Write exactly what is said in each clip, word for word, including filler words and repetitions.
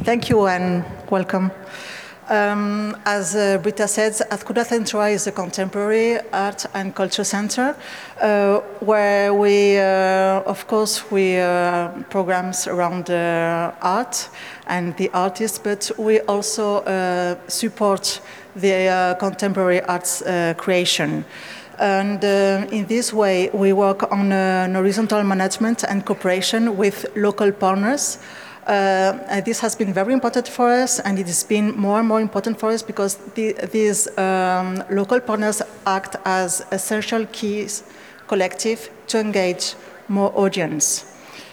Thank you and welcome. Um, as uh, Britta said, Azkuna Centroa is a contemporary art and culture center uh, where we, uh, of course, we uh, programs around uh, art and the artists, but we also uh, support the uh, contemporary arts uh, creation. And uh, in this way, we work on uh, an horizontal management and cooperation with local partners. Uh, and this has been very important for us, and it has been more and more important for us because the, these um, local partners act as essential keys collective to engage more audience.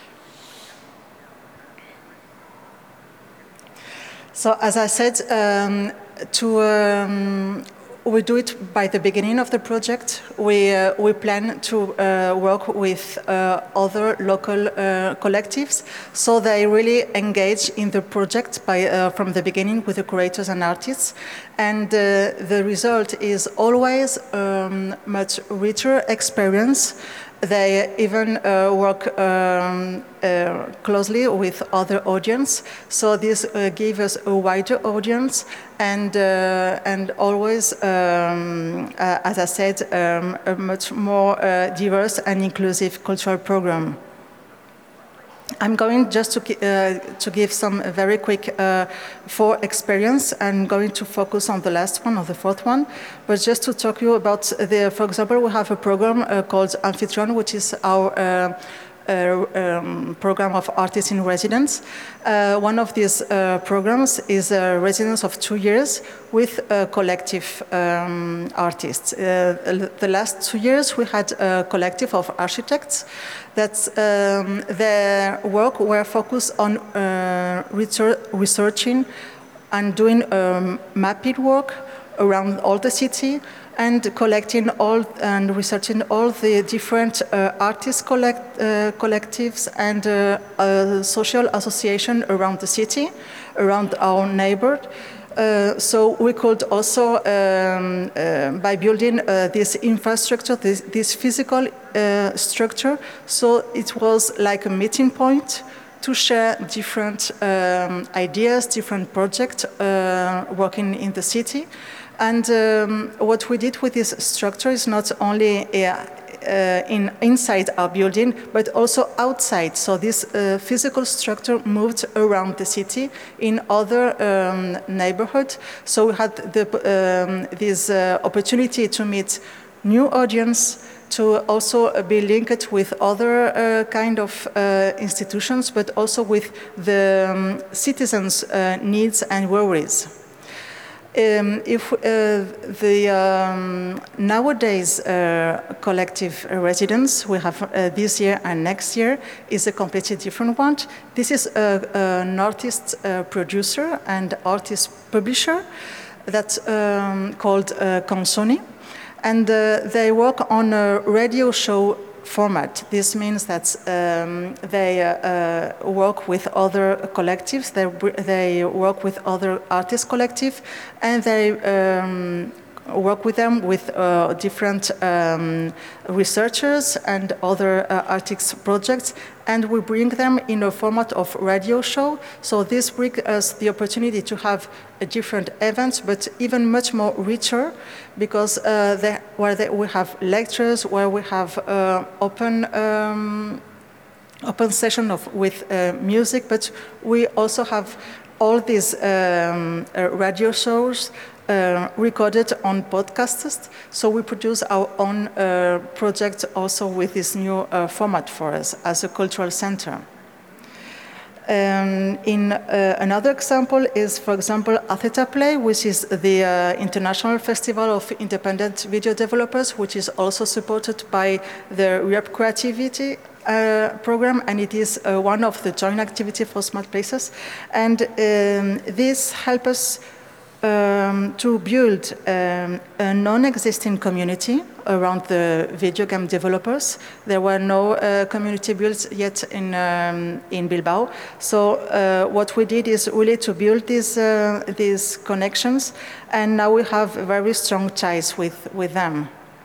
So, as I said, um, to um, we do it by the beginning of the project. We, uh, we plan to uh, work with uh, other local uh, collectives, so they really engage in the project by, uh, from the beginning with the curators and artists. And uh, the result is always um, much richer experience. They even uh, work um, uh, closely with other audience, so this uh, gives us a wider audience and uh, and always, um, uh, as I said, um, a much more uh, diverse and inclusive cultural program. I'm going just to, uh, to give some very quick uh, four experience. I'm going to focus on the last one or the fourth one, but just to talk to you about the, for example, we have a program uh, called Amphitryon, which is our uh, Uh, um, program of artists in residence. Uh, one of these uh, programs is a residence of two years with uh, collective um, artists. Uh, the last two years we had a collective of architects that um, their work were focused on uh, researching and doing um, mapping work around all the city, and collecting all and researching all the different uh, artist collect, uh, collectives and uh, uh, social association around the city, around our neighborhood. Uh, so we could also, um, uh, by building uh, this infrastructure, this, this physical uh, structure, so it was like a meeting point to share different um, ideas, different projects uh, working in the city. And um, what we did with this structure is not only uh, uh, in inside our building, but also outside. So this uh, physical structure moved around the city in other um, neighborhoods. So we had the, um, this uh, opportunity to meet new audience, to also be linked with other uh, kind of uh, institutions, but also with the um, citizens' uh, needs and worries. Um, if uh, the um, nowadays uh, collective residence we have uh, this year and next year is a completely different one. This is a, an artist uh, producer and artist publisher that's um, called uh, Consoni, and uh, they work on a radio show format. This means that um, they uh, work with other collectives, they, they work with other artist collective, and they um, work with them with uh, different um, researchers and other uh, artists projects, and we bring them in a format of radio show. So this brings us the opportunity to have a different events, but even much more richer, because uh, they, where they, we have lectures, where we have uh, open um, open session of with uh, music, but we also have all these um, uh, radio shows Uh, recorded on podcasts, so we produce our own uh, project also with this new uh, format for us as a cultural center. Um, in uh, another example is, for example, Atheta Play, which is the uh, International Festival of Independent Video Developers, which is also supported by the Europe Creativity uh, program, and it is uh, one of the joint activity for Smart Places. And um, this helps us Um, to build um, a non-existing community around the video game developers. There were no uh, community built yet in um, in Bilbao. So uh, what we did is really to build these uh, these connections, and now we have very strong ties with with them.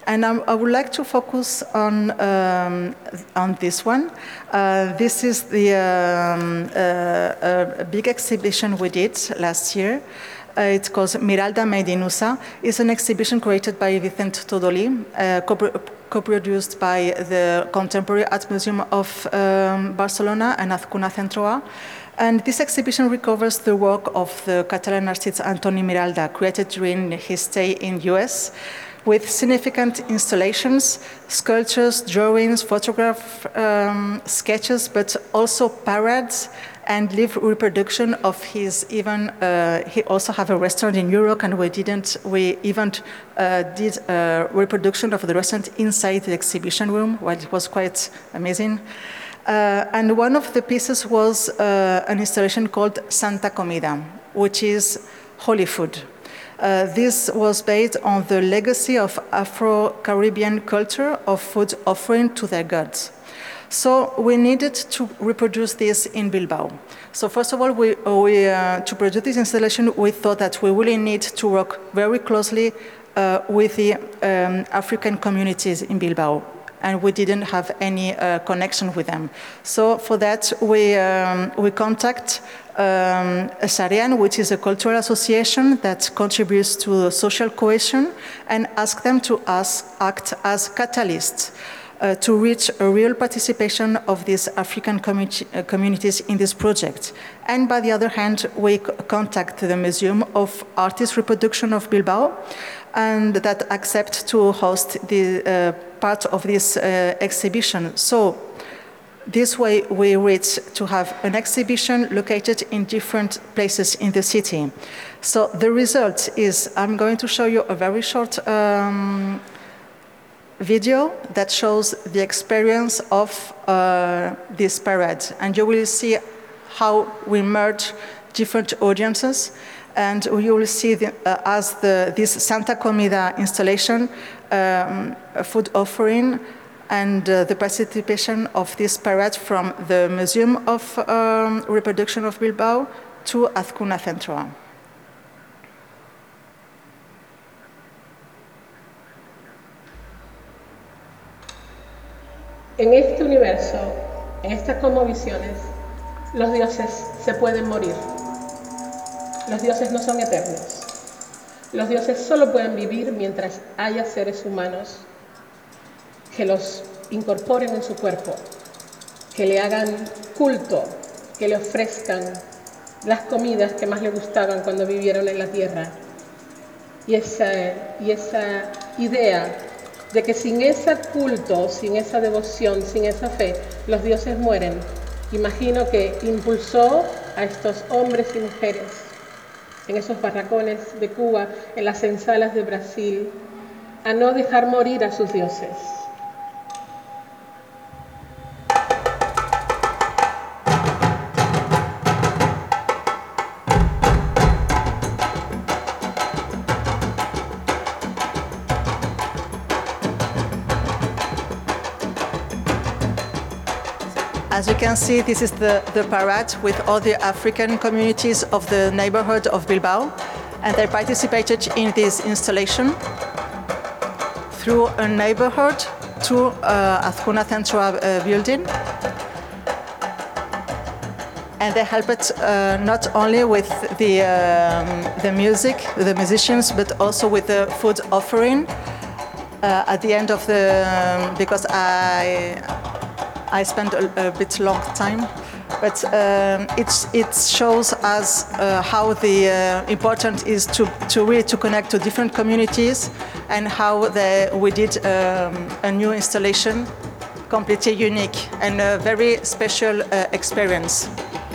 And I'm, I would like to focus on, um, on this one. Uh, this is the um, uh, a big exhibition we did last year. Uh, it's called Miralda Made in U S A. It's an exhibition created by Vicente Todoli, uh, co-produced by the Contemporary Art Museum of um, Barcelona and Azcuna Centroa. And this exhibition recovers the work of the Catalan artist Antoni Miralda, created during his stay in the U S, with significant installations, sculptures, drawings, photograph um, sketches, but also parades and live reproduction of his even, uh, he also have a restaurant in Europe, and we didn't, we even uh, did a reproduction of the restaurant inside the exhibition room, well, it was quite amazing. Uh, and one of the pieces was uh, an installation called Santa Comida, which is holy food. Uh, this was based on the legacy of Afro-Caribbean culture of food offering to their gods. So we needed to reproduce this in Bilbao. So first of all, we, we, uh, to produce this installation, we thought that we really need to work very closely uh, with the um, African communities in Bilbao, and we didn't have any uh, connection with them. So for that, we, um, we contact um, Sarian, which is a cultural association that contributes to social cohesion, and ask them to ask, act as catalysts uh, to reach a real participation of these African community, uh, communities in this project. And by the other hand, we contact the Museum of Artist Reproduction of Bilbao, and that accept to host the uh, part of this uh, exhibition. So this way we reach to have an exhibition located in different places in the city. So the result is, I'm going to show you a very short um, video that shows the experience of uh, this parade. And you will see how we merge different audiences. And you will see the, uh, as the, this Santa Comida installation, um, a food offering, and uh, the participation of this parade from the Museum of um, Reproduction of Bilbao to Azcuna Centroa. En este universo, en estas cosmovisiones, los dioses se pueden morir. Los dioses no son eternos. Los dioses solo pueden vivir mientras haya seres humanos que los incorporen en su cuerpo, que le hagan culto, que le ofrezcan las comidas que más le gustaban cuando vivieron en la tierra. Y esa, y esa idea de que sin ese culto, sin esa devoción, sin esa fe, los dioses mueren, imagino que impulsó a estos hombres y mujeres en esos barracones de Cuba, en las ensalas de Brasil, a no dejar morir a sus dioses. As you can see, this is the, the parade with all the African communities of the neighborhood of Bilbao, and they participated in this installation through a neighborhood to uh, Azcuna Centroa uh, building. And they helped uh, not only with the, um, the music, the musicians, but also with the food offering uh, at the end of the, um, because I, I spent a, a bit long time, but um, it's, it shows us uh, how the uh, important is to, to really to connect to different communities, and how the, we did um, a new installation, completely unique and a very special uh, experience.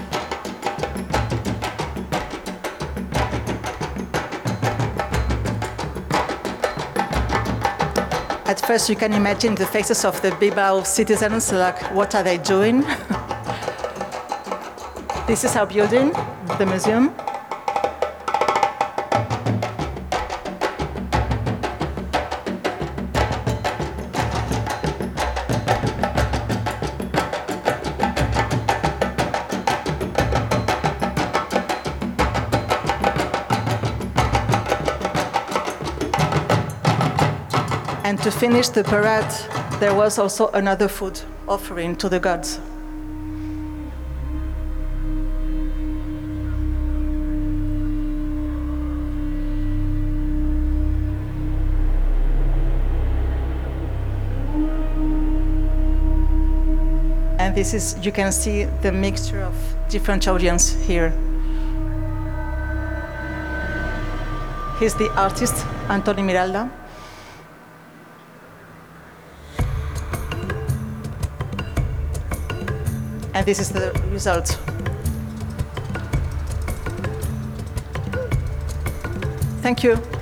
At first, you can imagine the faces of the Bilbao citizens, like, what are they doing? This is our building, the museum. And to finish the parade, there was also another food offering to the gods. And this is, you can see the mixture of different audience here. He's the artist, Antoni Miralda. And this is the result. Thank you.